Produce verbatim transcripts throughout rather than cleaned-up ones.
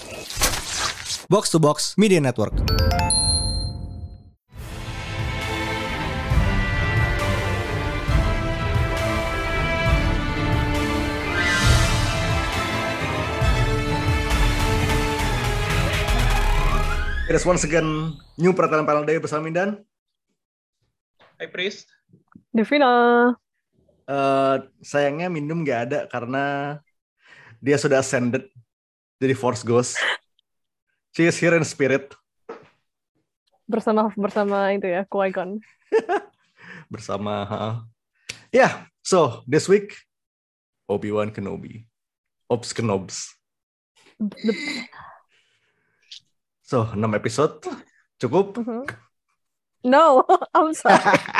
Box to Box Media Network. It is once again new peraturan panel day bersama Mindan. Hai Priest. Devina. Uh, sayangnya Minum nggak ada karena dia sudah ascended jadi Force Ghost. She is here in spirit. Bersama bersama itu ya, Qui-Gon. Bersama. Uh, yeah, so this week Obi-Wan Kenobi, Ops Kenobs. So, enam episode cukup? Mm-hmm. No, I'm sorry.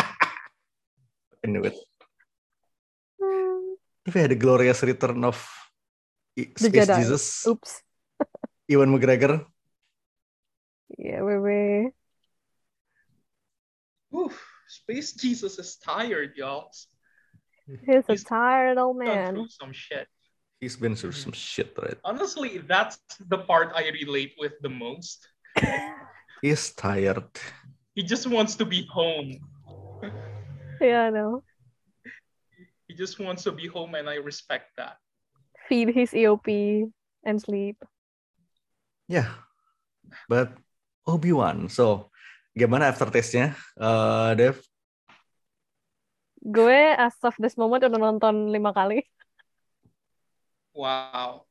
I knew it. If I had a glorious return of The Space Jedi. Jesus. Oops. Ewan McGregor. Yeah, wait, wait. Oof, Space Jesus is tired, y'all. He's a He's tired old gone man. through some shit. He's been through some shit, right? Honestly, that's the part I relate with the most. He's tired. He just wants to be home. Yeah, I know. He just wants to be home, and I respect that. Feed his E O P and sleep. Yeah, but Obi-Wan. So, gimana aftertaste-nya, uh, Dev? Gue as of this moment udah nonton lima kali. Wow.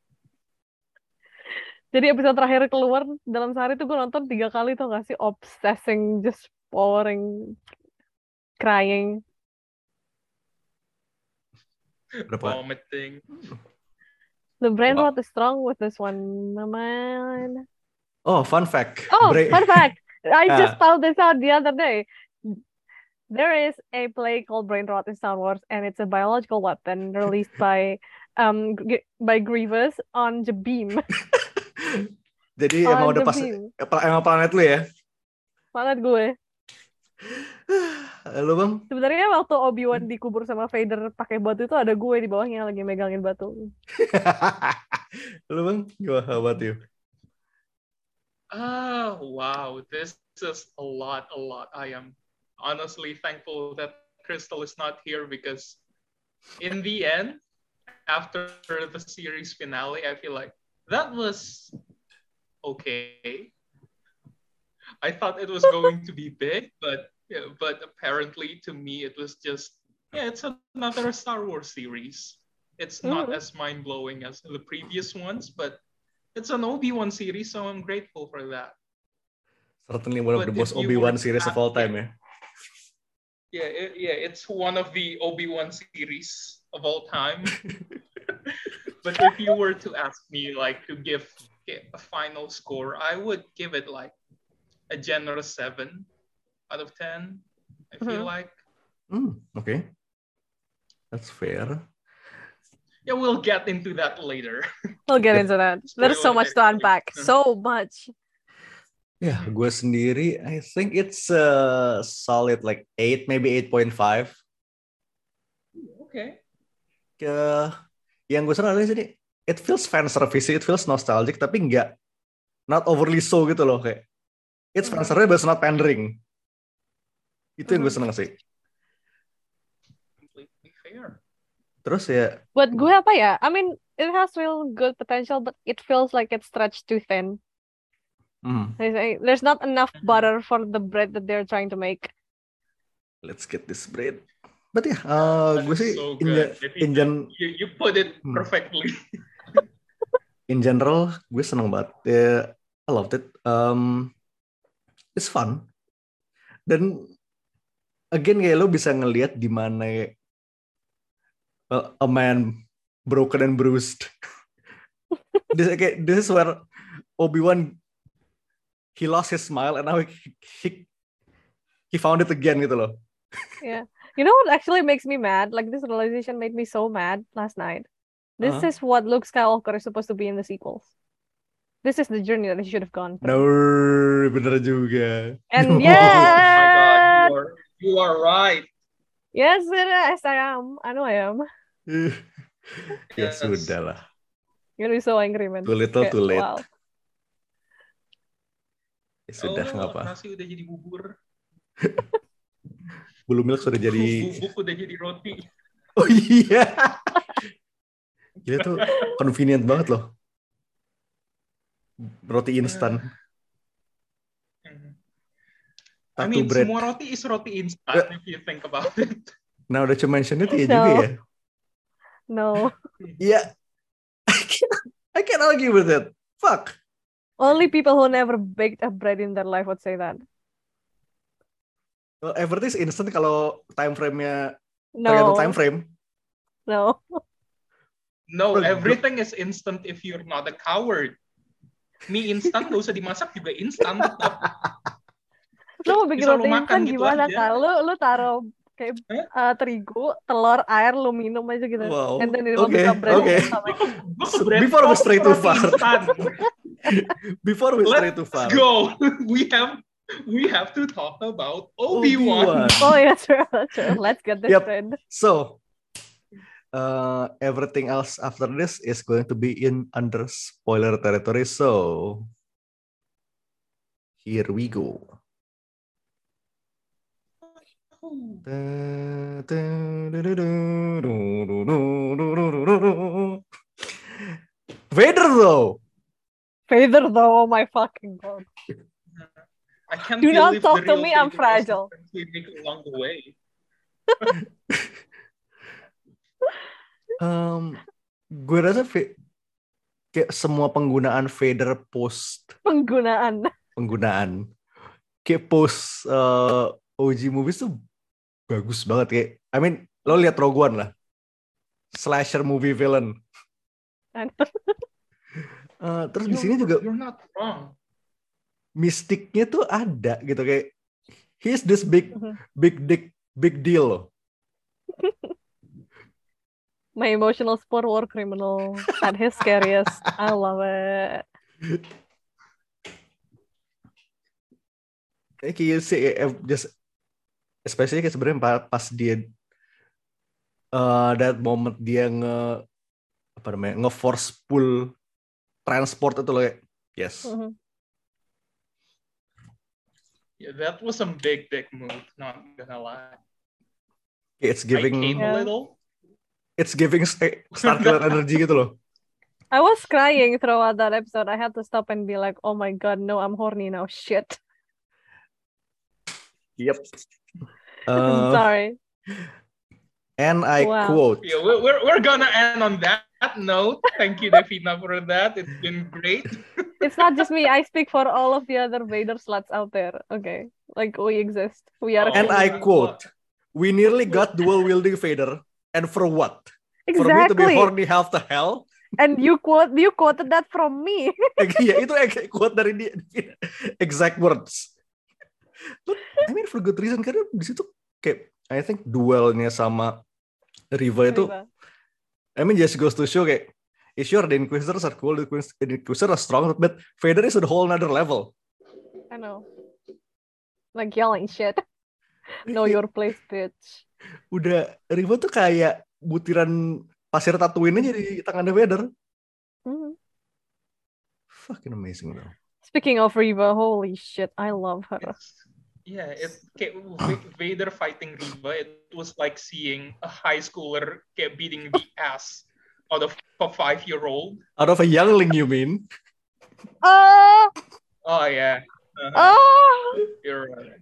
Jadi episode terakhir keluar dalam sehari tuh gue nonton tiga kali tuh gak sih? Obsessing, just pouring, crying. Berapa? Vomiting. The brain Wow. rot is strong with this one, man. Oh, fun fact. Oh, Bra- fun fact. I Ah. just found this out the other day. There is a play called Brain Rot in Star Wars, and it's a biological weapon released by um G- by Grievous on Jabim. Jadi On emang udah pas Jabim. emang planet lu ya? Banget gue. Lu Bang? Sebenarnya waktu Obi-Wan dikubur sama Vader pakai batu itu ada gue di bawahnya lagi megangin batu. Lu Bang? Gimana, how about you? Ah, wow. This is a lot, a lot. I am honestly thankful that Crystal is not here because in the end, after the series finale, I feel like that was okay. I thought it was going to be big, but yeah, but apparently to me it was just yeah, it's another Star Wars series. It's not Mhm. as mind-blowing as the previous ones, but it's an Obi-Wan series, so I'm grateful for that. Certainly one of But the if most you Obi-Wan were to series of ask- all time ya. Yeah, it, yeah, it's one of the Obi-Wan series of all time. But if you were to ask me like to give give a final score, I would give it like a generous seven out of ten. I feel Mhm. like Hmm, oke. Okay. That's fair. yeah, we'll get into that later. We'll get into that. There's so much to unpack. So much. Ya, gue sendiri, I think it's a solid like eight, maybe eight point five. Okay. Ke yang gue senang adalah sini, it feels fan service, it feels nostalgic, tapi nggak, not overly so gitu loh, kayak it's fan service but it's not pandering. Itu yang gue senang sih. Completely fair. Terus ya, Buat gue apa ya? I mean, it has real good potential, but it feels like it's stretched too thin. hmm, There's, a- there's not enough butter for the bread that they're trying to make. let's get this bread. But ya, uh, That gue is sih so in, good. ge- If in, you, gen- you, you put it Hmm. perfectly. in general, gue seneng banget. Ya, I loved it. Um, it's fun. Dan again kayak lo bisa ngelihat di mana uh, a man broken and bruised. this, kayak, this is where Obi-Wan he lost his smile and now he, he he found it again gitu loh. Yeah. You know what actually makes me mad? Like, this realization made me so mad last night. This Uh-huh. is what Luke Skywalker is supposed to be in the sequels. This is the journey that he should have gone No, through. bener juga. And No. yeah. Oh my god, you are you are right. Yes, it is. I am. I know I am. Ya Yes. sudah lah. You're gonna be so angry, man. Too little, Kayak, too late. wow. Ya sudah, Oh, nggak apa. nasi udah jadi bubur. Blue milk sudah jadi. Bubuk udah jadi roti. Oh iya. Gila tuh convenient banget loh. Roti instan. I Tattoo mean, bread. semua roti is roti instan if you think about it. Nah, udah cuma mention itu ya No. juga ya. No. Iya. I can't, I can't argue with it. Fuck. Only people who never baked a bread in their life would say that. Well, everything is instant kalau time frame-nya tergantung time No. frame. No. No, Bro, everything is instant if you're not a coward. Mie instan gak usah dimasak juga instan tetap. Lu mau bikin Bisa lu roti makan instan gitu gimana, aja. Kak? Lu, lu taruh kayak uh, terigu, telur, air, lu minum aja gitu. Wow. And then it will Okay, become bread. okay. Gue ke bread Before we toast stray too roti far. instan. Before we stray too Let's far. go. We have we have to talk about Obi-Wan. Obi-Wan. Oh yeah, true, true. Let's get this Yep. straight. So, uh, everything else after this is going to be in under spoiler territory. So, here we go. Vader though. Vader though, oh my fucking god. I can't Do not believe talk the to real me, I'm Vader was the fragile. friends we make along the way. Um, gue rasa v- kayak semua penggunaan Vader post Penggunaan. penggunaan kayak post uh, O G movies tuh bagus banget kayak. I mean, lo lihat Rogue One lah, slasher movie villain. Uh, terus di sini juga You're not wrong. mistiknya tuh ada gitu kayak he's this big Mhm. big dick big deal loh. My emotional sport war criminal at his scariest. I love it. Kayak you see eh, just especially kayak sebenarnya pa- pas dia uh, that moment dia nge apa namanya nge-force pull transport itu loh kayak yes. Mhm. Yeah, that was some big dick move, not gonna lie. It's I giving came Yeah. a little. it's giving st- Starkiller energy gitu loh. I was crying throughout that episode. I had to stop and be like, oh my god, no, I'm horny now. Shit. Yep. I'm Uh, sorry. and I Wow. quote. Yeah, we're, we're, we're gonna end on that note. Thank you, Defina, for that. It's been great. It's not just me. I speak for all of the other Vader sluts out there. Okay. Like, we exist. We are. Oh. And I quote, we nearly got dual wielding Vader, and for what? For me to be Exactly. horny half the hell? And you quote, you quoted that from me. Ya itu ek- quote dari dia, exact words. But I mean for good reason karena di situ kayak I think duelnya sama Riva itu, Riva. I mean just goes to show kayak, yeah, sure the Inquisitors are cool, the Inquis- the Inquisitors are strong, but Vader is at a whole another level. I know. Like yelling shit. Know your place, bitch. Udah Riva tuh kayak butiran pasir Tatooine aja di tangannya Vader. Mhm. Fucking amazing though. Speaking of Riva, holy shit, I love her. It's, yeah, it kayak V- Vader fighting Riva. It was like seeing a high schooler kayak beating the ass out of a five-year-old. Out of a youngling, you mean? Oh, Oh yeah, uh-huh. oh, You're right.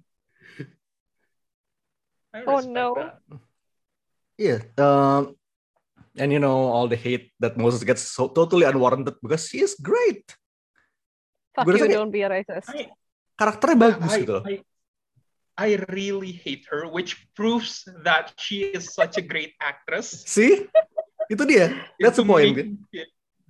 I Oh, respect no. that. Yeah. Um, and you know all the hate that Moses gets so totally unwarranted because she is great. fuck Gue you, rasa kayak don't be a racist. I, karakternya bagus I, gitu loh. I, I really hate her, which proves that she is such a great actress. See? Itu dia. That's the Itu point. make- yeah.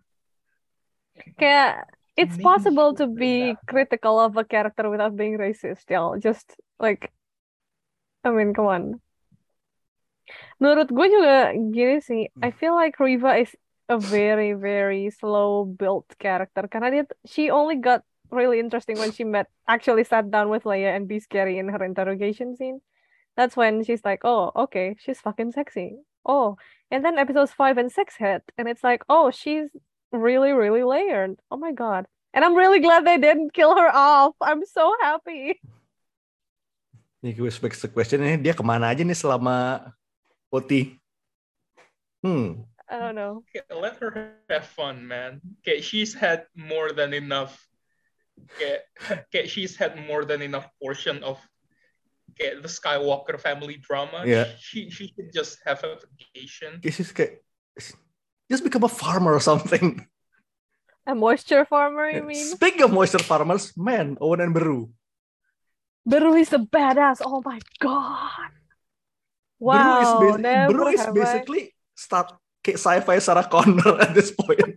Kayak, it's Maybe possible to she'll be bring that. critical of a character without being racist, y'all. Just like, I mean, come on. Menurut gue juga gini sih, I feel like Riva is a very, very slow built character. Karena dia, she only got really interesting when she met, actually sat down with Leia and be scary in her interrogation scene. That's when she's like, oh, okay, she's fucking sexy. Oh, and then episodes five and six hit, and it's like, oh, she's really, really layered. Oh my god. And I'm really glad they didn't kill her off. I'm so happy. Ini gue expect the question ini dia kemana aja nih selama O T? Hmm. I don't know. Okay, let her have fun, man. Okay, she's had more than enough. Okay, okay, she's had more than enough portion of okay, the Skywalker family drama. Yeah. She she should just have a vacation. She's kayak just become a farmer or something. A moisture farmer, you mean? Speaking of moisture farmers, man, Owen and Beru. Beru is a badass. Oh my god. Beru is, Wow. basi- Never Beru is have I- basically start kayak sci-fi Sarah Connor at this point.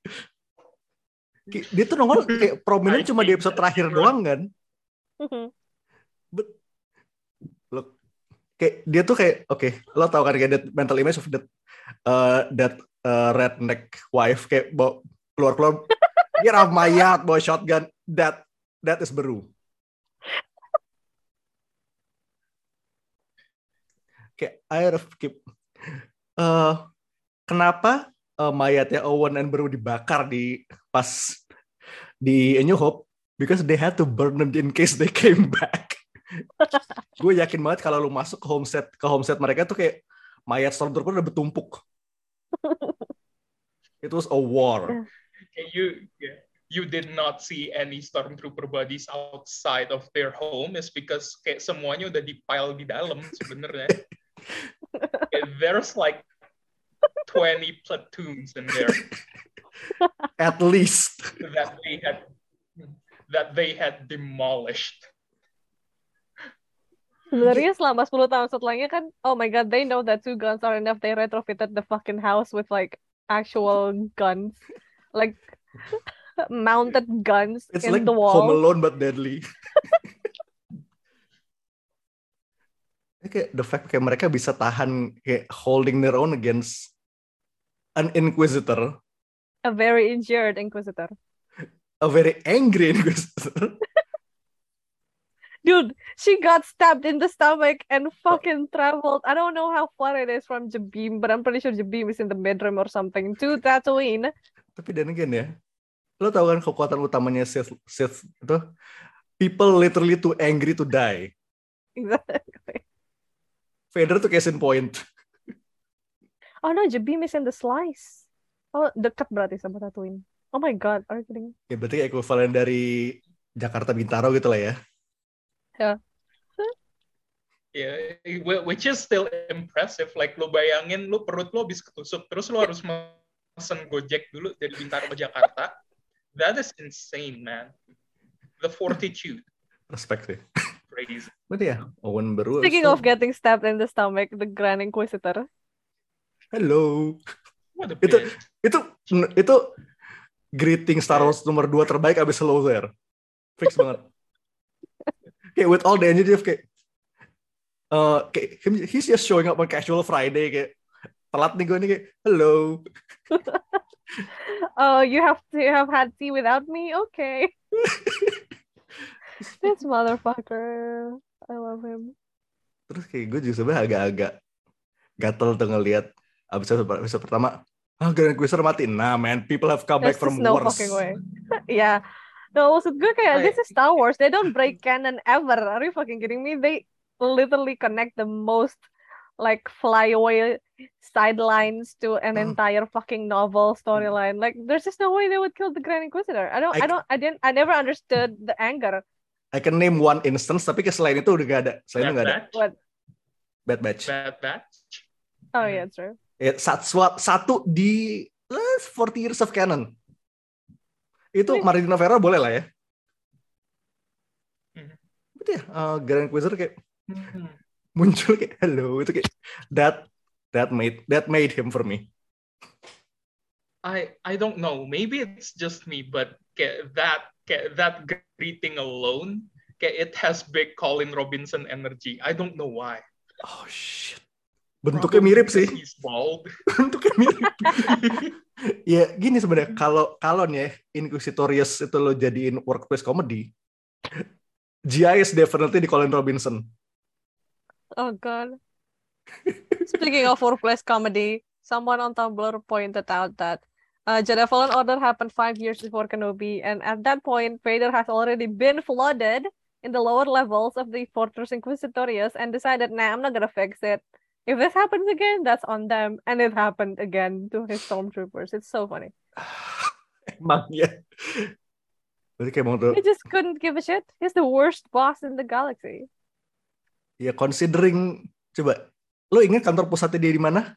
Kayak dia tuh nongol kayak prominent I cuma di think episode that's terakhir true. doang kan. But look, kayak dia tuh kayak oke, okay, lo tau kan kayak that mental image of that uh, that uh, redneck wife kayak bawa keluar-keluar dia ramayat bawa shotgun, that that is Beru. Kayak I have keep uh, kenapa uh, mayatnya Owen and Beru dibakar di pas di A New Hope? Because they had to burn them in case they came back. Gue yakin banget kalau lu masuk ke homestead ke homestead mereka tuh kayak mayat stormtrooper udah bertumpuk. It was a war. Okay, you yeah, you did not see any stormtrooper bodies outside of their home is because kayak semuanya udah dipile di dalam sebenarnya. Okay, there's like twenty platoons in there At least. that they had that they had demolished. Sebenarnya selama sepuluh tahun setelahnya kan, oh my god, they know that two guns are enough. They retrofitted the fucking house with like actual guns, like mounted guns It's in like the wall. Home Alone but deadly. Kayak the fact kayak mereka bisa tahan kayak holding their own against an inquisitor, A very injured inquisitor. a very angry inquisitor. Dude, she got stabbed in the stomach and fucking traveled. I don't know how far it is from Jabim, but I'm pretty sure Jabim is in the bedroom or something. To Tatooine. Tapi dan again ya, lo tau kan kekuatan utamanya Sith, Sith itu? People literally too angry to die. Exactly. Vader tuh case in point. Oh no, Jabim is in the slice. Oh, dekat berarti sama Tatooine. Oh my god, are you kidding? Ya berarti equivalent dari Jakarta Bintaro gitu lah ya. Yeah. Yeah, which is still impressive. Like lo bayangin lo perut lo habis ketusuk, terus lo harus mesen Gojek dulu dari Bintaro ke Jakarta. That is insane, man. The fortitude. Respect sih. Crazy. Berarti ya, Owen Beru. Speaking so- of getting stabbed in the stomach, the Grand Inquisitor. Hello. What a Itu bitch. itu itu greeting Star Wars nomor dua terbaik abis Hello There. Fix banget. Kayak with all the energy of kayak uh, kayak him, he's just showing up on casual Friday kayak telat nih gue nih kayak hello. Oh, you have to have had tea without me? Okay. This motherfucker. I love him. Terus kayak gue juga sebenarnya agak-agak gatel tuh ngeliat abis episode pertama ah Grand Inquisitor mati. Nah man, people have come back There's from just no worse. fucking way. Yeah. No, maksud gue kayak, I- this is Star Wars. They don't break canon ever. Are you fucking kidding me? They literally connect the most like flyaway sidelines to an Mm. entire fucking novel storyline. Like, there's just no way they would kill the Grand Inquisitor. I don't, I- I don't, I didn't, I never understood the anger. I can name one instance tapi kayak selain itu udah gak ada. Selain itu Bad gak ada. Batch. What? Bad Batch. Bad Batch. Oh Mhm. yeah, true. Ya, satu, satu di uh, forty years of canon. Itu Ini- Marinina Vera boleh lah ya. Mhm. Betul ya, uh, Grand Inquisitor kayak Mhm. muncul kayak hello itu kayak that that made that made him for me. I I don't know. Maybe it's just me, but kayak that kayak that greeting alone, kayak it has big Colin Robinson energy. I don't know why. Oh shit. Bentuknya Probably mirip because sih. He's bald. Bentuknya mirip. Ya gini sebenarnya kalau kalau nih ya, Inquisitorius itu lo jadiin workplace comedy, G I is definitely di Colin Robinson. Oh god. Speaking of workplace comedy, someone on Tumblr pointed out that Uh, Jedi Fallen Order happened five years before Kenobi, and at that point, Vader has already been flooded in the lower levels of the Fortress Inquisitorius and decided, nah, I'm not gonna fix it. If this happens again, that's on them. And it happened again to his stormtroopers. It's so funny. Emang ya. Berarti kayak mau tuh. He just couldn't give a shit. He's the worst boss in the galaxy. Ya considering, coba, lo ingat kantor pusatnya dia di mana?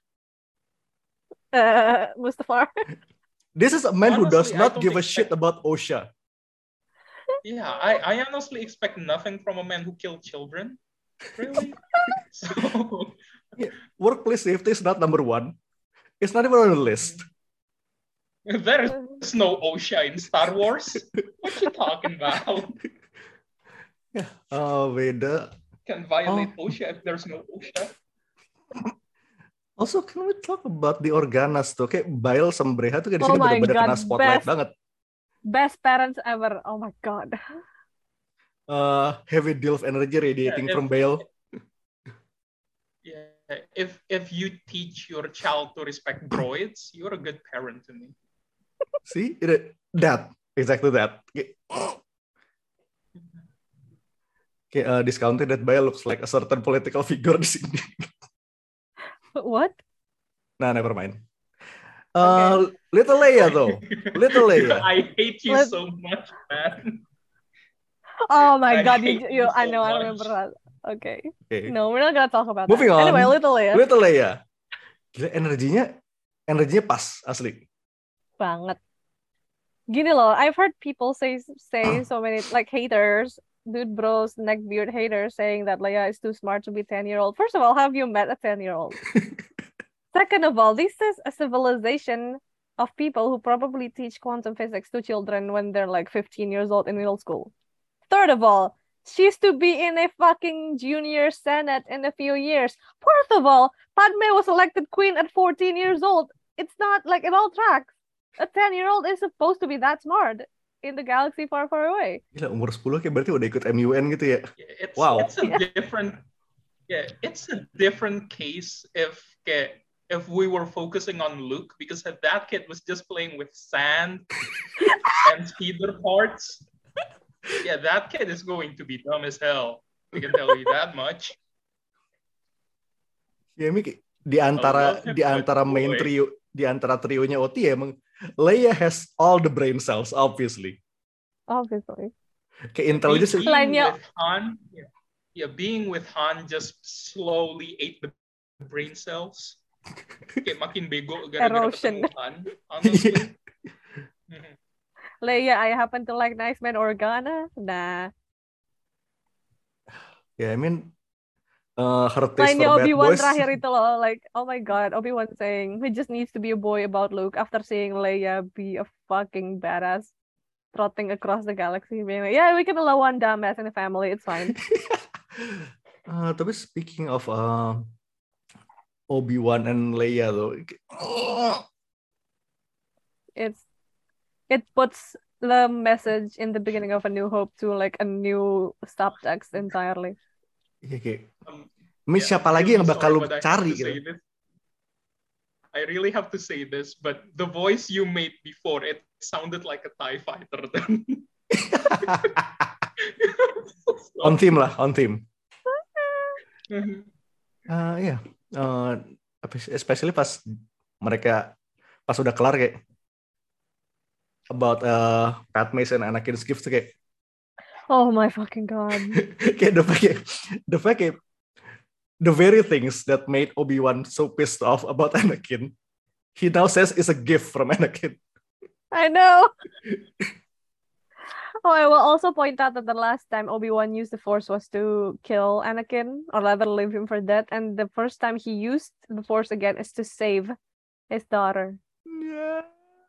Uh, Mustafar. This is a man who does Honestly, I not don't give a expect- shit about OSHA. Yeah, I, I honestly expect nothing from a man who killed children. Really? So Workplace safety is not number one. It's not even on the list. there is no OSHA in Star Wars. What you talking about? Oh, beda. Can violate OSHA if there's no OSHA. Also, can we talk about the Organas tuh? Kayak Bail sama Breha tuh kayak di Oh sini my bener-bener God, kena spotlight best. banget. Best parents ever. Oh my God. Uh, heavy deal of energy radiating Yeah, from if- Bail. Yeah, if if you teach your child to respect droids, you're a good parent to me. See? It, that. Exactly that. Kayak, kayak uh, discounted that Bail looks like a certain political figure di sini. What? Nah, never mind. Uh, Little Leia though. Little Leia. I hate you Let- so much, man. Oh my I God, hate you, you you I so know, I much. remember that. Okay. Okay. No, we're not gonna talk about Moving that. on. Anyway, Little Leia. Little Leia. Gila, energinya, energinya pas asli. Banget. Gini loh, I've heard people say say so many like haters, dude bros, neckbeard haters saying that Leia is too smart to be ten year old. First of all, have you met a ten year old? Second of all, this is a civilization of people who probably teach quantum physics to children when they're like fifteen years old in middle school. Third of all, she's to be in a fucking junior senate in a few years. Fourth of all, Padme was elected queen at fourteen years old. It's not like it all tracks. A ten-year-old is supposed to be that smart in the galaxy far, far away. Gila, umur sepuluh kayak berarti udah ikut M U N gitu ya. Yeah, It's Wow. it's a different yeah, it's a different case if okay, if we were focusing on Luke, because if that kid was just playing with sand and speeder parts, yeah, that kid is going to be dumb as hell. I can tell you that much. Ya, ini kayak di antara love him, di antara but main boy. trio, di antara trionya O T ya, emang Leia has all the brain cells, obviously. Obviously. Kayak intelligence. Being Lainnya- with Han, yeah, yeah, being with Han just slowly ate the brain cells. Kayak makin bego gara-gara Erosion. ketemu Han, honestly. Mhm. Leia, I happen to like Nice Man Organa. Nah. Ya, I mean, uh, her taste Lainnya for bad Obi-Wan boys. terakhir itu loh, like, oh my God, Obi-Wan saying he just needs to be a boy about Luke after seeing Leia be a fucking badass trotting across the galaxy, being like, yeah, we can allow one dumbass in the family, it's fine. Uh, tapi speaking of uh, Obi-Wan and Leia though, It's it puts the message in the beginning of A New Hope to like a new subtext entirely. ya kayak, Um, ini yeah, siapa I'm lagi really yang bakal sorry, lu but I have cari to say gitu? this. I really have to say this, but the voice you made before, it sounded like a TIE fighter then. On theme lah, on theme. Mhm. Uh, ya, uh, especially pas mereka pas udah kelar kayak about uh, Padme and Anakin's gift tuh kayak Oh my fucking God. kayak the fact kayak, the fact kayak the very things that made Obi-Wan so pissed off about Anakin, he now says is a gift from Anakin. I know. Oh, I will also point out that the last time Obi-Wan used the Force was to kill Anakin, or rather leave him for dead, and the first time he used the Force again is to save his daughter. Yeah.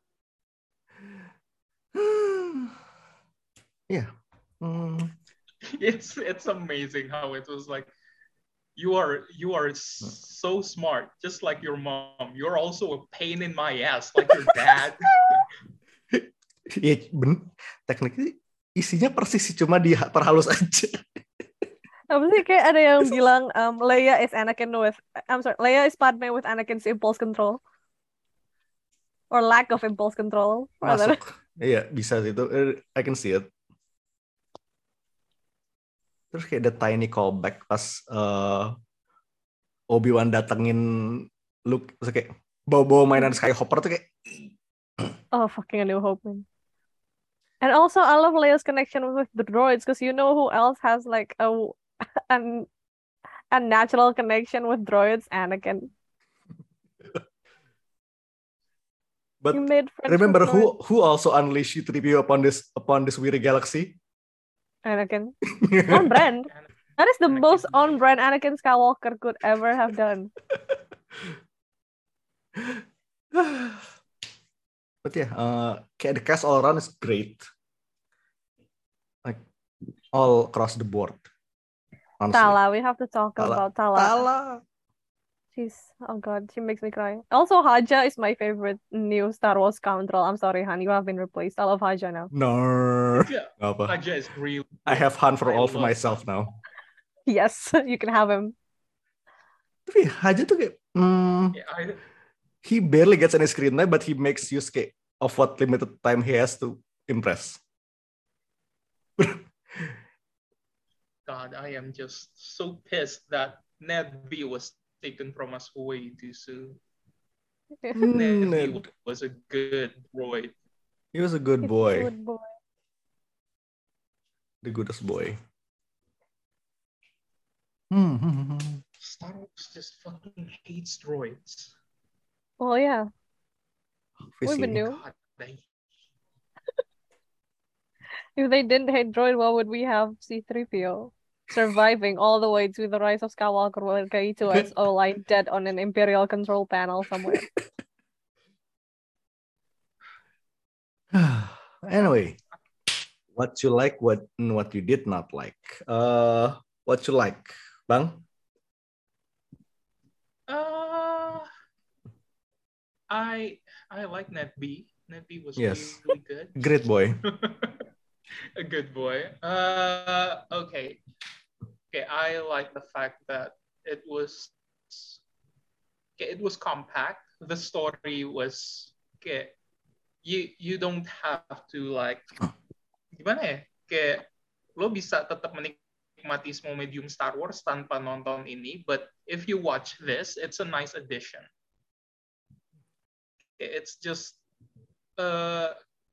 Yeah. Mm. It's it's amazing how it was like, you are you are so smart, just like your mom. You're also a pain in my ass, like your dad. Ya, ben, tekniknya isinya persis sih, cuma diperhalus aja. Apa sih kayak ada yang bilang um, Leia is Anakin with I'm sorry, Leia is Padme with Anakin's impulse control. or lack of impulse control rather. Masuk. Iya, bisa sih itu. Eh, I can see it. Terus kayak the tiny callback pas uh, Obi-Wan datengin Luke, terus kayak bawa-bawa mainan Skyhopper tuh kayak Oh, fucking A New Hope, man. And also, I love Leia's connection with the droids because you know who else has like a an a natural connection with droids? Anakin. But You made friends remember with who droids. who also unleashed three P O upon this upon this weary galaxy? Anakin. On brand. That is the Anakin. most on brand Anakin Skywalker could ever have done. But yeah, uh, kayak the cast all around is great. Like all across the board. Honestly. Tala, we have to talk Tala. about Tala. Tala. She's, oh god, she makes me cry. Also, Haja is my favorite new Star Wars scoundrel. I'm sorry, Han, you have been replaced. I love Haja now. No. Yeah, Nggak apa. Haja is real. I have Han for I all for love myself Han. now. Yes, you can have him. Tapi Haja tuh kayak, hmm, Yeah, I, he barely gets any screen time, but he makes use kayak of what limited time he has to impress. God, I am just so pissed that Ned B was taken from us way too soon. Ned B Ned. was a good droid. He was a good He's a boy. good boy. The goodest boy. Hmm, hmm, hmm, hmm. Star Wars just fucking hates droids. Well, yeah, we Obviously. would knew. God, they... If they didn't hate droid, what would we have C three P O? Surviving all the way to the Rise of Skywalker while K two S O lying dead on an Imperial control panel somewhere. Anyway, what you like, what what you did not like. Uh, what you like, Bang? Uh, I I like Ned B. Ned B was Yes. really good. Great boy. A good boy. Uh, okay. Okay, I like the fact that it was okay, it was compact. The story was okay. You you don't have to like gimana ya? Kayak lo bisa tetap menikmati semua medium Star Wars tanpa nonton ini, but if you watch this, it's a nice addition. It's just uh,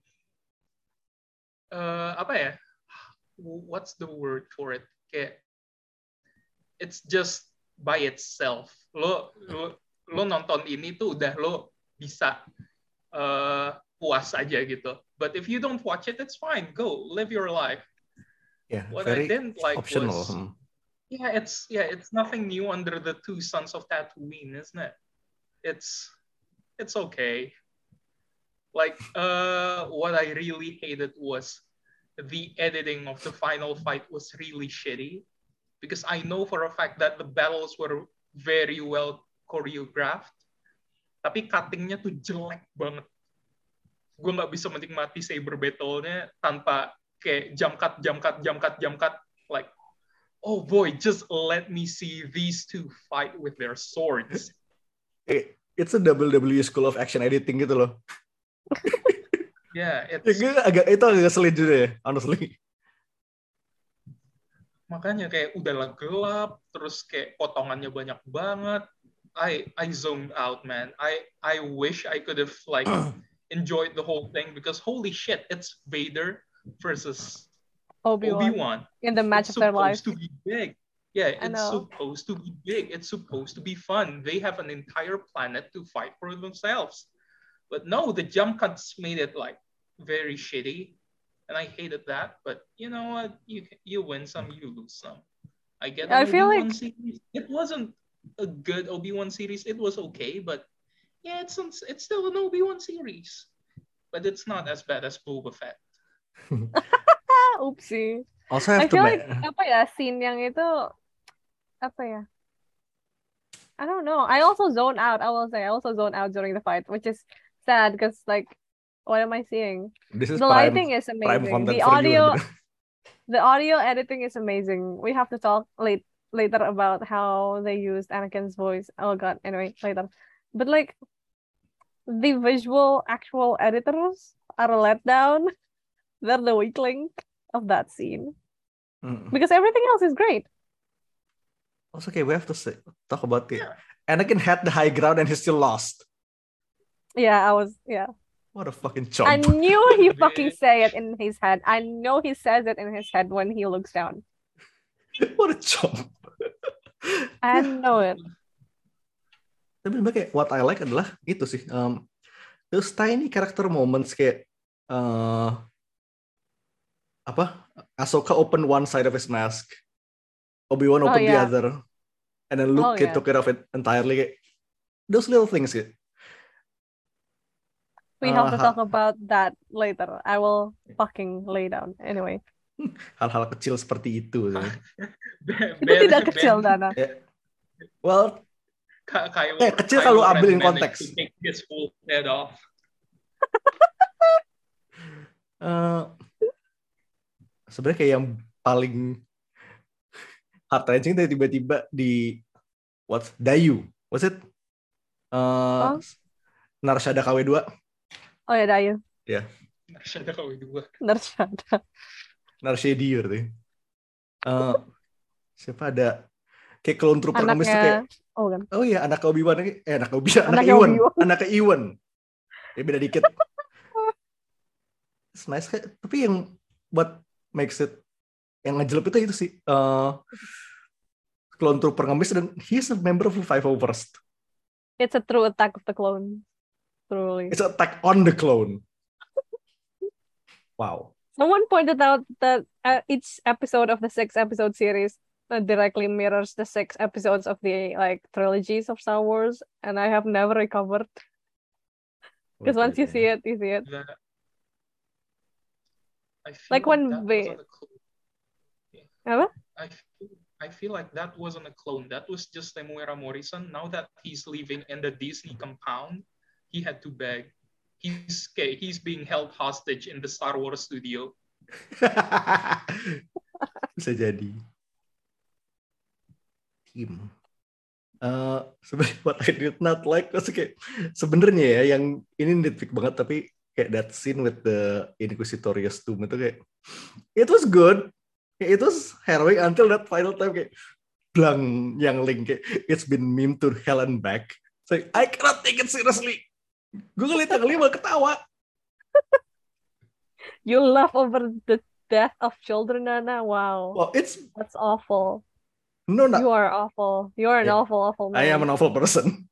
uh, apa ya? What's the word for it? Kayak it's just by itself. Lo lo, lo nonton ini tuh udah lo bisa uh, puas aja gitu. But if you don't watch it, it's fine. Go live your life. Yeah, What very I didn't like optional. was yeah, it's yeah, it's nothing new under the two sons of Tatooine, isn't it? It's it's okay. Like uh, what I really hated was the editing of the final fight was really shitty because I know for a fact that the battles were very well choreographed, tapi cuttingnya tuh jelek banget. Gue nggak bisa menikmati saber battle-nya tanpa kayak jump cut, jump cut, jump cut, jump cut. Like, oh boy, just let me see these two fight with their swords. It's a W W E school of action editing gitu loh. Yeah, it's... Ya, agak itu agak ngeselin juga ya, honestly. Makanya kayak udahlah gelap, terus kayak potongannya banyak banget. I I zoned out, man. I I wish I could have like enjoyed the whole thing because holy shit, it's Vader versus Obi-Wan, Obi-Wan. in the match It's of their lives. supposed to be big. Yeah, I it's know. supposed to be big. It's supposed to be fun. They have an entire planet to fight for themselves. But no, the jump cuts made it like very shitty. And I hated that. But you know what? You you win some, you lose some. I get I an feel Obi-Wan like series. It wasn't a good Obi-Wan series. It was okay, but yeah, it's it's still an Obi-Wan series. But it's not as bad as Boba Fett. Oopsie. Also have I to feel ma- like apa ya scene yang itu apa ya? I don't know. I also zone out. I will say I also zone out during the fight, which is sad because like, what am I seeing? This is The prime, lighting is prime amazing. content The for audio, you. the audio editing is amazing. We have to talk late later about how they used Anakin's voice. Oh god. Anyway, later. But like, the visual actual editors are let down. They're the weak link of that scene. Mm. Because everything else is great. Also, okay, we have to say, talk about it. Yeah. Anakin had the high ground and he still lost. Yeah, I was, yeah. What a fucking I chump. knew he fucking Bitch. say it in his head. I know he says it in his head when he looks down. What a chump. I Ya, know it. tapi sebenarnya kayak what I like adalah itu sih. Um, those tiny character moments kayak uh, apa? Ahsoka open one side of his mask, Obi-Wan Oh open the yeah. other, and then Oh Luke kayak yeah. took care of it entirely. Kayak, those little things kayak. We Uh, have to talk hal, about that later. I will fucking lay down. Anyway. hal-hal kecil seperti itu. Sih. Itu Ben, tidak kecil, Ben, Dana. Ya, well, Ka- Kylo, eh kecil Kylo kalau Ren ambil in managed konteks. to take his full head off. Uh, sebenarnya kayak yang paling heart wrenching itu tiba-tiba di what Dayu, was it? Uh, Oh? Narshada K W dua. Oh ya, Dayu. Ya. Narshada K W dua. Narshada. Narshadi berarti. Uh, siapa ada kayak clone trooper ngemis tuh kayak Anaknya. Oh kan. oh iya anak Obi-Wan eh anak Obi-Wan anak Anaknya Iwan Obi-Wan. anak Iwan ya beda dikit. It's nice kayak tapi yang what makes it yang ngejelep itu itu sih uh, clone trooper ngemis dan he's a member of the five oh first. It's a true attack of the clone. Truly. It's an attack on the clone. Wow. Someone pointed out that uh, each episode of the six episode series uh, directly mirrors the six episodes of the like trilogies of Star Wars, and I have never recovered. Because once you see it, you see it. That, I feel Like like when that we- wasn't a clone. Apa? I feel, I feel like that wasn't a clone. That was just Temuera Morrison. Now that he's living in the Disney compound, he had to beg. He's he's being held hostage in the Star Wars studio. Bisa jadi. Tim. Uh, sebenarnya what I did not like was kayak sebenarnya ya yang ini nitpick banget tapi kayak that scene with the Inquisitorius Tomb itu kayak it was good. Kayak it was harrowing until that final time kayak blang yang link kayak it's been meme to hell and back. So I cannot take it seriously. Gue ngeliat yang lima ketawa. You laugh over the death of children, Nana. Wow. Well, it's That's awful. no, not. You are awful. You are an Yeah. awful, awful man. I am an awful person.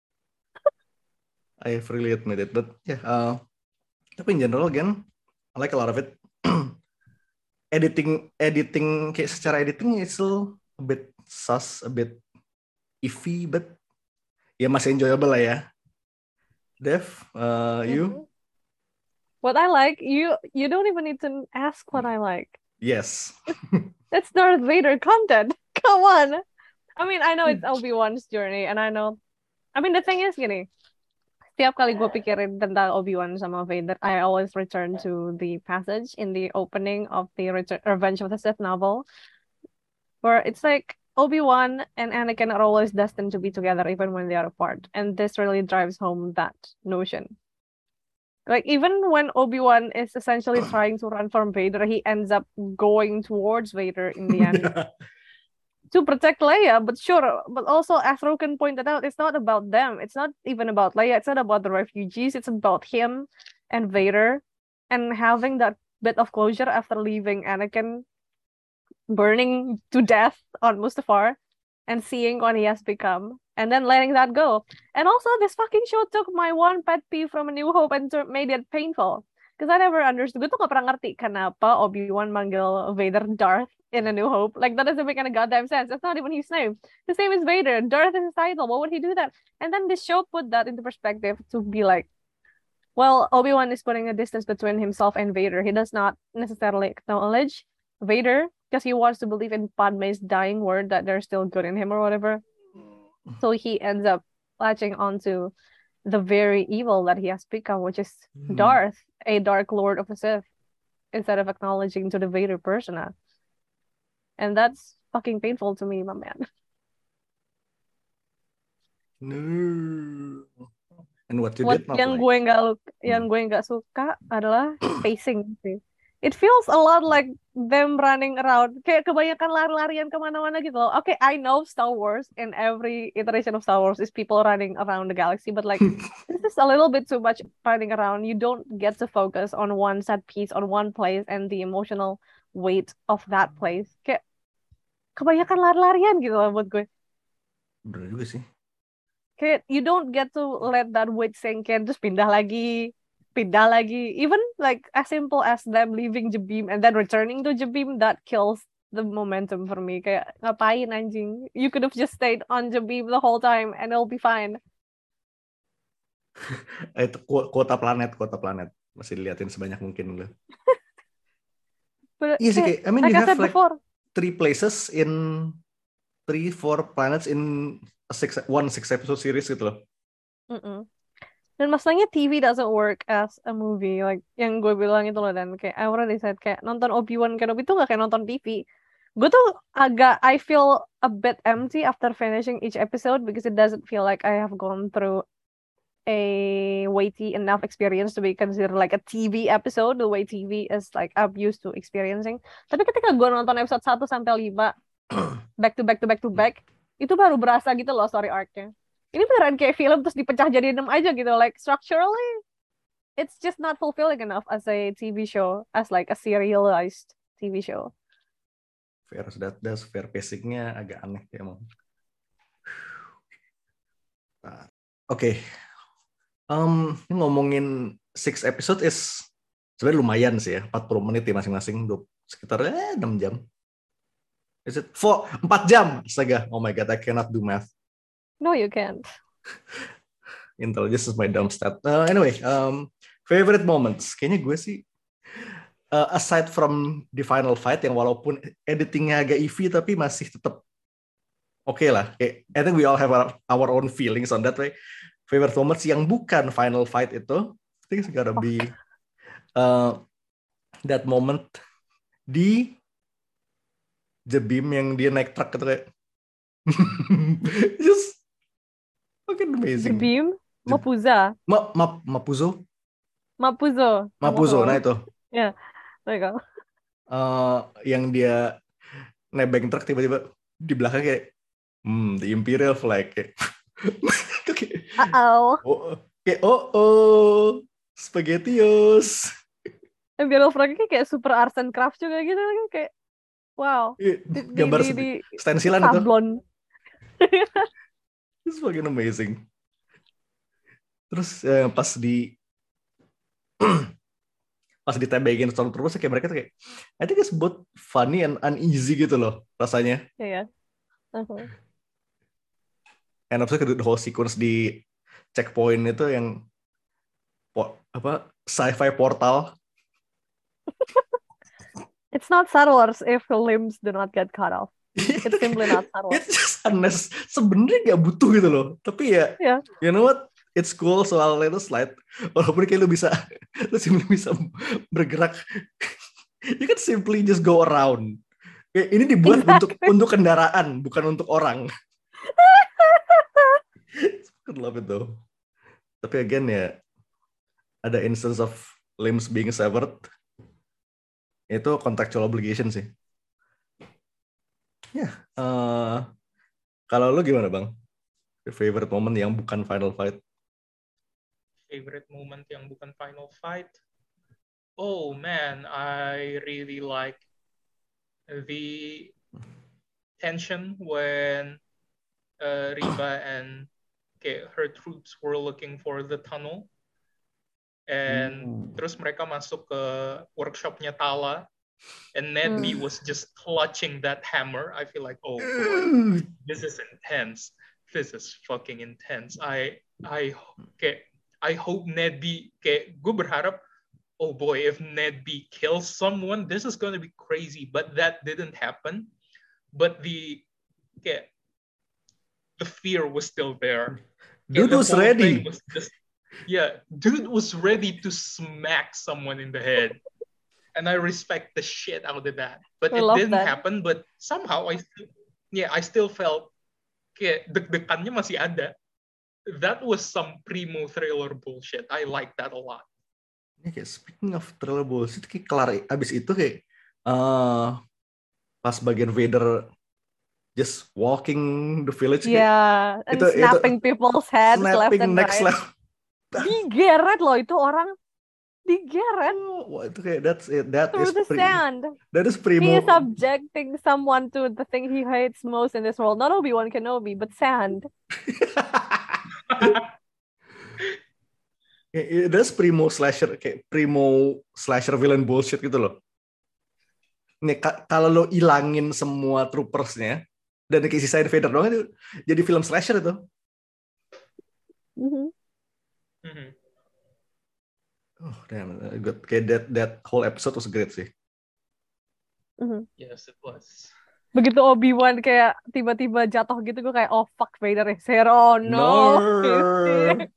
I freely admit it, but yeah. Uh, tapi in general, again, I like a lot of it. editing, editing, kayak secara editing it's still a bit sus, a bit iffy, but ya masih enjoyable lah ya. Dev, uh, you? Mhm. What I like, you you don't even need to ask what I like. Yes. It's Darth Vader content. Come on. I mean, I know it's Obi-Wan's journey, and I know. I mean, the thing is gini. Setiap kali gue pikirin tentang Obi-Wan sama Vader, I always return to the passage in the opening of the Return, Revenge of the Sith novel, where it's like Obi-Wan and Anakin are always destined to be together even when they are apart. And this really drives home that notion. Like, even when Obi-Wan is essentially trying to run from Vader, he ends up going towards Vader in the end to protect Leia. But sure, but also, as Roken pointed out, it's not about them. It's not even about Leia. It's not about the refugees. It's about him and Vader and having that bit of closure after leaving Anakin burning to death on Mustafar and seeing what he has become and then letting that go. And also, this fucking show took my one pet peeve from A New Hope and tur- made it painful. Because I never understood. Gue tuh gak pernah ngerti kenapa Obi-Wan manggil Vader Darth in A New Hope. Like, that doesn't make any goddamn sense. That's not even his name. His name is Vader. Darth is his title. Why would he do that? And then this show put that into perspective to be like, well, Obi-Wan is putting a distance between himself and Vader. He does not necessarily acknowledge Vader because he wants to believe in Padme's dying word that there's still good in him or whatever. So he ends up latching onto the very evil that he has become, which is Hmm. Darth, a Dark Lord of the Sith, instead of acknowledging to the Vader persona. And that's fucking painful to me, my man. No. And what you What did not yang like. gue nggak lu- Hmm. yang gue nggak suka adalah pacing sih. It feels a lot like them running around. Kayak kebanyakan lari-larian kemana-mana gitu loh. Okay, I know Star Wars and every iteration of Star Wars is people running around the galaxy, but like this is a little bit too much running around. You don't get to focus on one set piece, on one place, and the emotional weight of that place. Kayak kebanyakan lari-larian gitu loh buat gue. Bener juga sih. Kayak you don't get to let that weight sink in, terus pindah lagi, pindah lagi. Even like as simple as them leaving Jabim and then returning to Jabim, that kills the momentum for me. Kayak ngapain anjing? You could have just stayed on Jabim the whole time and it'll be fine. Itu ku- kuota planet, kuota planet. Masih diliatin sebanyak mungkin loh. But Iya sih, kayak, kayak, I mean like you I have said like before, three places in three, four planets in a six, one six episode series gitu loh. mm-mm. Dan masalahnya T V doesn't work as a movie. Like yang gue bilang itu loh, dan kayak I already said kayak nonton Obi-Wan Kenobi itu gak kayak nonton T V. Gue tuh agak I feel a bit empty after finishing each episode because it doesn't feel like I have gone through a weighty enough experience to be considered like a T V episode the way T V is like I'm used to experiencing. Tapi ketika gue nonton episode satu sampai lima back to back to back to back, itu baru berasa gitu loh story arc-nya. Ini beneran kayak film terus dipecah jadi enam aja gitu. Like structurally, it's just not fulfilling enough as a T V show, as like a serialized T V show. Fair, that does fair pacing-nya agak aneh ya emang. Nah, Oke, okay. um, ngomongin six episode is sebenarnya lumayan sih ya, empat puluh menit ya masing-masing, sekitar eh, enam jam. Is it four, empat jam? Astaga, oh my god, I cannot do math. No, you can't. Intelligence is my dumb stat. Uh, anyway, um, favorite moments. Kayaknya gue sih, uh, aside from the final fight yang walaupun editingnya agak iffy tapi masih tetap oke okay lah. Okay. I think we all have our, our own feelings on that way. Favorite moments yang bukan final fight itu, I think it's gotta be uh, that moment di Jabim yang dia naik truk gitu kayak just fucking amazing. Jabim, Mapuza, Ma, ma, Mapuzo, Mapuzo, Mapuzo, nah itu. Ya, yeah, there you go. Uh, yang dia nebeng truk tiba-tiba di belakang kayak, hmm, the Imperial flag kayak, okay. Uh-oh. Oh, kayak oh oh, spaghettios. Imperial flag kayak super arts and crafts juga gitu kayak wow. Di, Gambar di, di, di stensilan sablon. itu. It's fucking amazing. Terus eh, pas di pas ditebengin Stormtroopers kayak mereka tuh kayak I think it's both funny and uneasy gitu loh rasanya. Iya. Yeah, yeah. Uh-huh. And also the whole sequence di checkpoint itu yang po, apa sci-fi portal. It's not Star Wars if the limbs do not get cut off. It's simply not Star Wars. It's just unless sebenarnya nggak butuh gitu loh. Tapi ya, yeah. You know what? It's cool soal itu slide. Walaupun kayak lu bisa, lu simply bisa bergerak. You can simply just go around. Kayak ini dibuat exactly. untuk untuk kendaraan, bukan untuk orang. I love it though. Tapi again ya, ada instance of limbs being severed. Itu contractual obligation sih. Ya, yeah. uh, kalau lu gimana bang? Your favorite moment yang bukan final fight? Favorite moment yang bukan final fight? Oh man, I really like the tension when uh, Reva and okay, her troops were looking for the tunnel. And Ooh. Terus mereka masuk ke workshopnya Tala, and Ned B mm. was just clutching that hammer. I feel like, oh boy, this is intense. This is fucking intense. I I okay, I hope Ned B. Okay, gue berharap, oh boy, if Ned B kills someone, this is gonna be crazy. But that didn't happen. But the okay, the fear was still there. Dude okay, was ready. Was just, yeah, dude was ready to smack someone in the head. And I respect the shit out of that. But I it didn't that. happen. But somehow I still, yeah, I still felt kayak deg-degannya masih ada. that was some primo thriller bullshit. I like that a lot. Ini kayak speaking of thriller bullshit, kayak kelar abis itu kayak uh, pas bagian Vader just walking the village kayak Yeah, and itu itu snapping people's heads left snapping and next right. level. Digeret loh itu orang, digeret Wah, itu kayak that's it. That through is the pre- sand. that is He primo. is subjecting someone to the thing he hates most in this world. Not Obi-Wan Kenobi, but sand. Kayak, that's primo slasher kayak primo slasher villain bullshit gitu loh. Nih ka- kalau lo ilangin semua troopersnya dan kayak sisain Vader doang itu jadi film slasher itu. Mhm. Mhm. Oh damn, good. Kayak that that whole episode was great sih. Mhm. Yes, it was. Begitu Obi-Wan kayak tiba-tiba jatuh gitu, gue kayak, oh fuck, Vader is here. Oh no, he's here.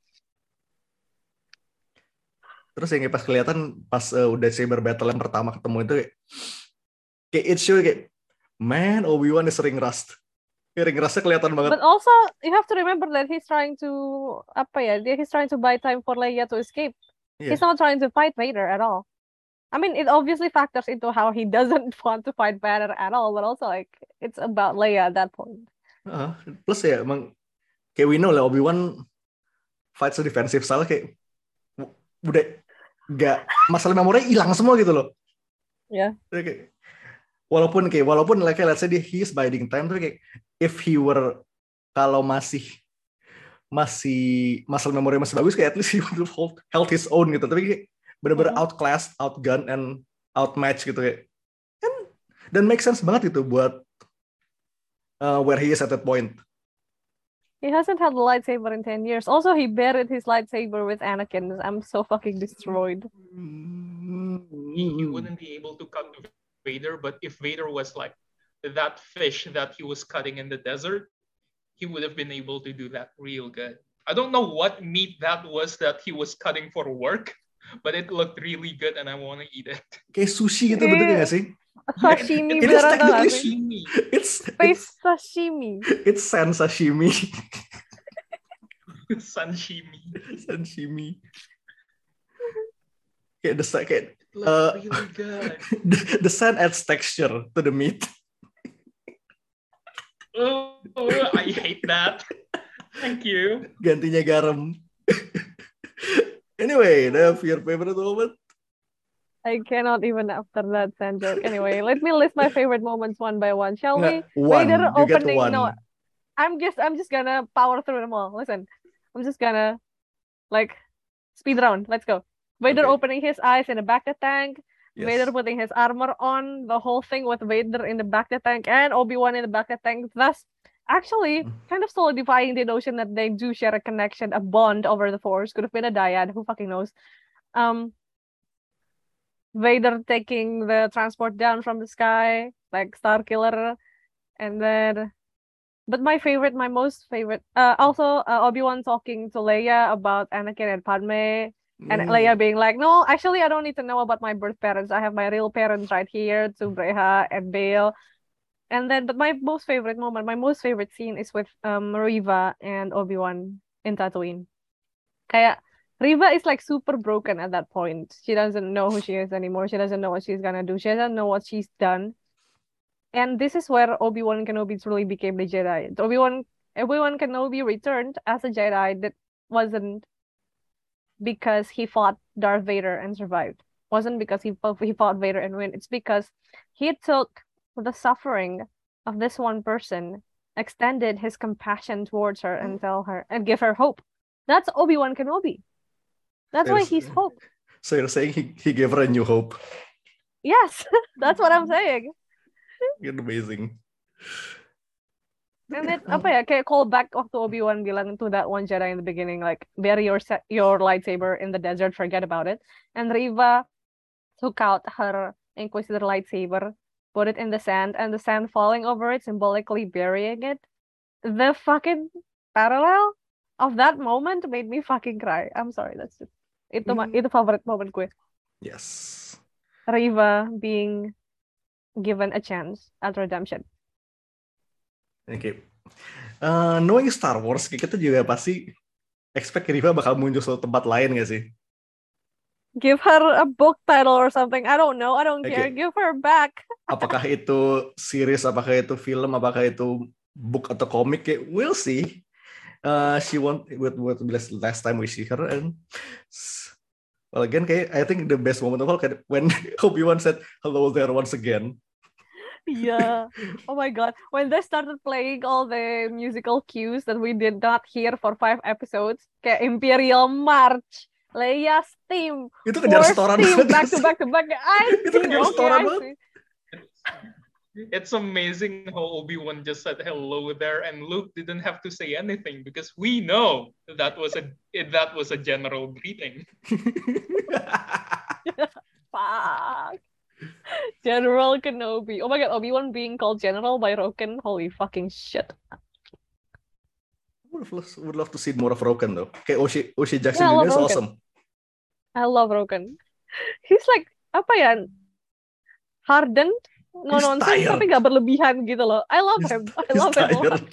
Terus yang pas kelihatan pas uh, udah saber battle yang pertama ketemu itu kayak, kayak it show kayak man Obi-Wan is ring rust. Kayak ring rustnya kelihatan banget. But also you have to remember that he's trying to apa ya? Dia he's trying to buy time for Leia to escape. Yeah. He's not trying to fight Vader at all. I mean, it obviously factors into how he doesn't want to fight Vader at all, but also like it's about Leia at that point. Uh, plus ya emang kayak we know lah Obi-Wan fight so defensive style kayak udah nggak masalah memori hilang semua gitu loh. Ya. Yeah. Kayak, walaupun kayak walaupun like let's say he is biding time tuh kayak if he were kalau masih masih masalah memori masih bagus kayak at least he would have hold, held his own gitu. Tapi kayak benar-benar mm-hmm. outclassed, outgunned and outmatched gitu kayak. And, dan make sense banget gitu buat uh, where he is at that point. He hasn't held a lightsaber in ten years. Also, he buried his lightsaber with Anakin. I'm so fucking destroyed. He, he wouldn't be able to cut Vader, but if Vader was like that fish that he was cutting in the desert, he would have been able to do that real good. I don't know what meat that was that he was cutting for work, but it looked really good and I want to eat it. Kayak sushi gitu bentuknya nggak sih? Sashimi it, it beneran tau gak sih? sih? It's Space sashimi. It's san sashimi. Sanshimi. Sanshimi. Kayak the kayak it looks uh, really good. The, the sand adds texture to the meat. Oh, I hate that. Thank you. Gantinya garam. Anyway, that's your favorite moment? I cannot even after that sand joke. Anyway, let me list my favorite moments one by one, shall Nggak, we? one. Vader You get opening. one. No, I'm just I'm just gonna power through them all. Listen, I'm just gonna like speed round. Let's go. Vader Okay. opening his eyes in the Bacta tank. Yes. Vader putting his armor on. The whole thing with Vader in the Bacta tank and Obi-Wan in the Bacta tank. Thus, actually, kind of solidifying the notion that they do share a connection, a bond over the Force. Could have been a dyad. Who fucking knows? Um. Vader taking the transport down from the sky, like Starkiller, and then, but my favorite, my most favorite, uh, also uh, Obi-Wan talking to Leia about Anakin and Padme, and Mm. Leia being like, no, actually, I don't need to know about my birth parents. I have my real parents right here, to Breha and Bale. And then, but my most favorite moment, my most favorite scene is with um Riva and Obi-Wan in Tatooine. Kayak Riva is like super broken at that point. She doesn't know who she is anymore. She doesn't know what she's gonna do. She doesn't know what she's done. And this is where Obi-Wan Kenobi truly became the Jedi. Obi-Wan Obi-Wan Kenobi returned as a Jedi that wasn't because he fought Darth Vader and survived. Wasn't because he fought, he fought Vader and win. It's because he took the suffering of this one person, extended his compassion towards her, and tell her and give her hope. That's Obi-Wan Kenobi. That's why he's hope. So you're saying he, he gave her a new hope? Yes, that's what I'm saying. It's amazing. And it, apa ya, kayak call back waktu Obi-Wan bilang to that one Jedi in the beginning, like, bury your your lightsaber in the desert, forget about it. And Riva took out her Inquisitor lightsaber, put it in the sand, and the sand falling over it, symbolically burying it. The fucking parallel of that moment made me fucking cry. I'm sorry, that's just itu mm. itu favorite moment gue. Yes. Riva being given a chance at redemption. Oke. Okay. Uh, knowing Star Wars, kita juga pasti expect Riva bakal muncul suatu tempat lain gak sih? Give her a book title or something. I don't know. I don't care. Oke. Give her back. Apakah itu series, apakah itu film, apakah itu book atau komik? Kayak, we'll see. Uh, she won't with what last time we see her, and well again, kayak I think the best moment of all kayak when Obi-Wan said hello there once again. Yeah. Oh my God. When they started playing all the musical cues that we did not hear for five episodes, kayak Imperial March, Leia's theme, Itu kejar Force setoran theme, banget. back to back to back. I Itu see. kejar Okay, setoran I banget. see. It's amazing how Obi-Wan just said hello there, and Luke didn't have to say anything because we know that was a that was a general greeting. Fuck. General Kenobi. Oh my God, Obi-Wan being called General by Roken. Holy fucking shit. Would love, would love to see more of Roken though. Kayak Oshi Oshi Jackson Yeah, I love Junior is Roken. awesome. I love Roken. He's like, apa ya? Hardened, no He's nonsense, tired. tapi gak berlebihan gitu loh. I love He's, him. I he's love him a lot. tired.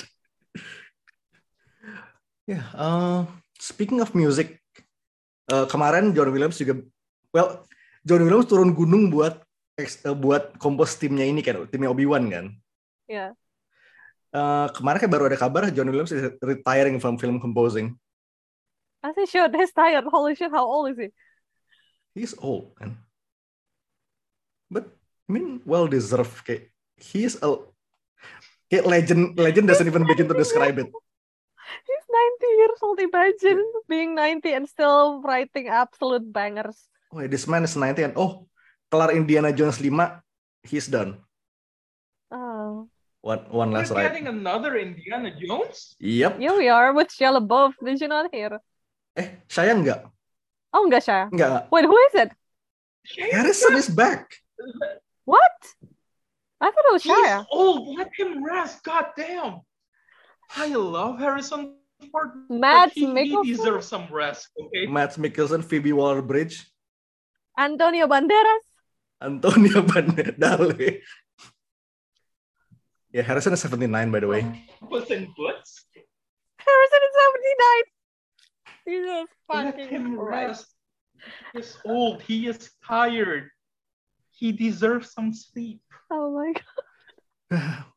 Yeah. Uh, speaking of music, uh, kemarin John Williams juga, well, John Williams turun gunung buat uh, buat kompos timnya ini kan, timnya Obi-Wan kan. Yeah. Uh, kemarin kan baru ada kabar John Williams is retiring from film composing. As he should. He's tired. Holy shit, how old is he? He's old, man. But I mean, well deserved. Kayak he's a kayak legend. Legend doesn't even begin to describe it. He's ninety years old. Imagine being ninety and still writing absolute bangers. Oh, this man is ninety and oh, kelar Indiana Jones five, he's done. Oh. One one last We're ride. getting another Indiana Jones? Yep. Here we are with Shia LaBeouf. Did you not hear? Eh, Shia enggak? Oh, enggak Shia. Enggak. Wait, who is it? Harrison is back. What? I thought it was He's Shia. old. Let him rest. God damn. I love Harrison Ford, Mads but he, he Mikkelsen? deserves some rest. Okay. Mads Mikkelsen, Phoebe Waller-Bridge, Antonio Banderas. Antonio Banderas. Yeah, Harrison is seventy-nine, by the way. Puss in Boots. Harrison is seventy-nine. Jesus Let fucking him Christ. rest. He is old. He is tired. He deserves some sleep. Oh my God.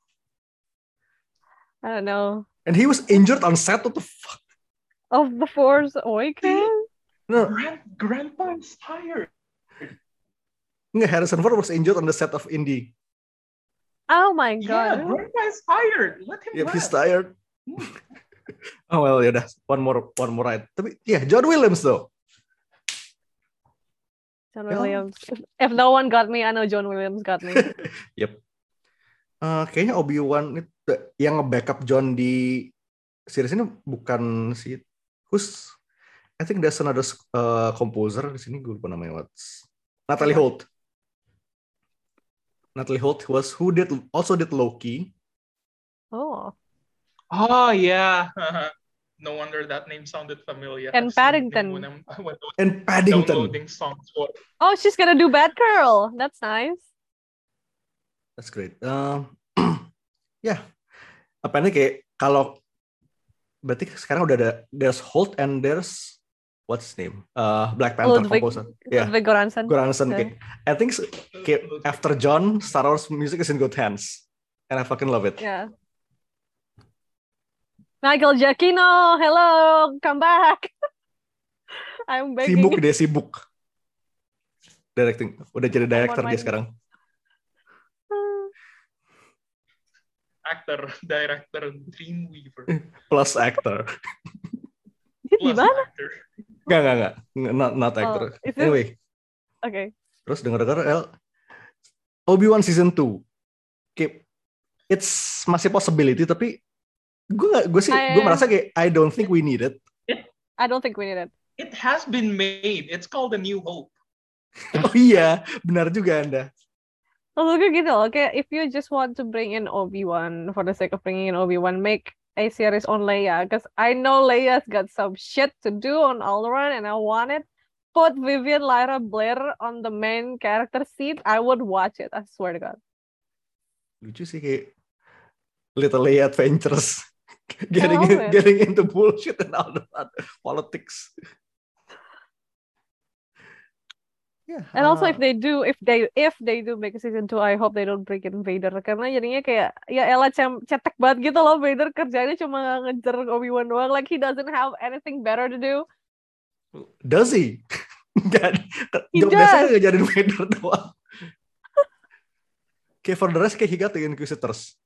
I don't know. And he was injured on set. What the fuck? Of the Force Awakens? No, Grand, Grandpa is tired. nggak, Harrison Ford was injured on the set of Indy. Oh my Yeah, God. Grandpa is tired. Let him Yep, he's rest. tired. Oh well, ya udah, one more, one more ride. Tapi ya, yeah, John Williams though. John Yeah. Williams. If, if no one got me, I know John Williams got me. Yep. Uh, kayaknya Obi-Wan itu yang nge-backup John di series ini bukan si who's I think there's another uh, composer di sini, gue lupa namanya what's Natalie Holt. Natalie Holt was who did also did Loki. Oh. Oh, yeah. No wonder that name sounded familiar. And I've seen the name Paddington. When I'm, when I was And Paddington. downloading songs for Oh, she's gonna do Batgirl. That's nice. That's great. Um, ya, yeah. Apanya kayak kalau berarti sekarang udah ada there's Holt and there's what's his name? Uh, Black Panther Ludwig, composer. Yeah, Ludwig Göransson. Göransson. Yeah. Kayak, I think kayak after John, Star Wars music is in good hands, and I fucking love it. Yeah. Michael Giacchino, hello, come back. I'm begging. Sibuk dia sibuk. Directing, udah jadi director on dia my- sekarang. actor, director, Dreamweaver. Plus actor. Di Plus mana? actor. Enggak, enggak, enggak. Not, not actor. Oh, is it- Anyway, Okay. terus denger-denger El Obi-Wan season two. Kayak it's masih possibility tapi gue gak, gue sih I- gue merasa kayak I don't think we need it. I don't think we need it. It has been made. It's called A New Hope. Oh iya, benar juga Anda. Maksud gue gitu loh, kayak if you just want to bring in Obi-Wan for the sake of bringing in Obi-Wan, make a series on Leia, because I know Leia's got some shit to do on Alderaan and I want it. Put Vivian Lyra Blair on the main character seat, I would watch it, I swear to God. Lucu sih kayak Little Leia Adventures. getting love in, it. getting into bullshit and all that politics. Yeah. And also if uh, they do, if they if they do make a season two, I hope they don't bring in Vader karena jadinya kayak ya elah cem- cetek banget gitu loh. Vader kerjanya cuma ngejar Obi-Wan doang, like he doesn't have anything better to do. does he? Gak, He job desknya does. ngejarin Vader doang. Okay, for the rest kayak he got the Inquisitors.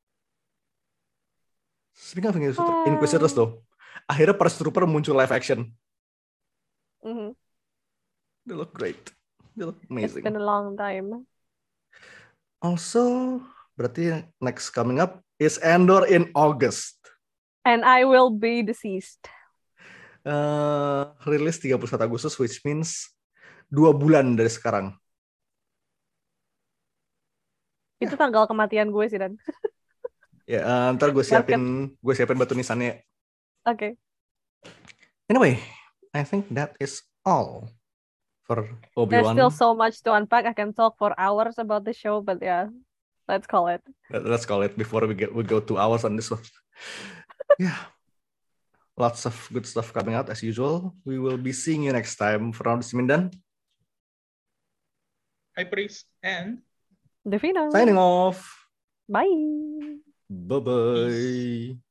Speaking of Inquisitor- Ah. Inquisitors though, akhirnya Purge Trooper muncul live action. Mhm. They look great. They look It's amazing. been a long time. Also, berarti next coming up is Andor in August. And I will be deceased. Uh, rilis tiga puluh satu Agustus, which means dua bulan dari sekarang. Itu tanggal kematian gue sih, Dan. Ya, uh, ntar gue Market. siapin, gue siapin batu nisannya. Oke. Anyway, I think that is all for There's Obi-Wan. still so much to unpack. I can talk for hours about the show, but yeah, let's call it. Let- Let's call it before we get we go two hours on this one. Yeah, lots of good stuff coming out as usual. We will be seeing you next time. From Mindan, High Priest and Devina. signing off. Bye. Bye bye.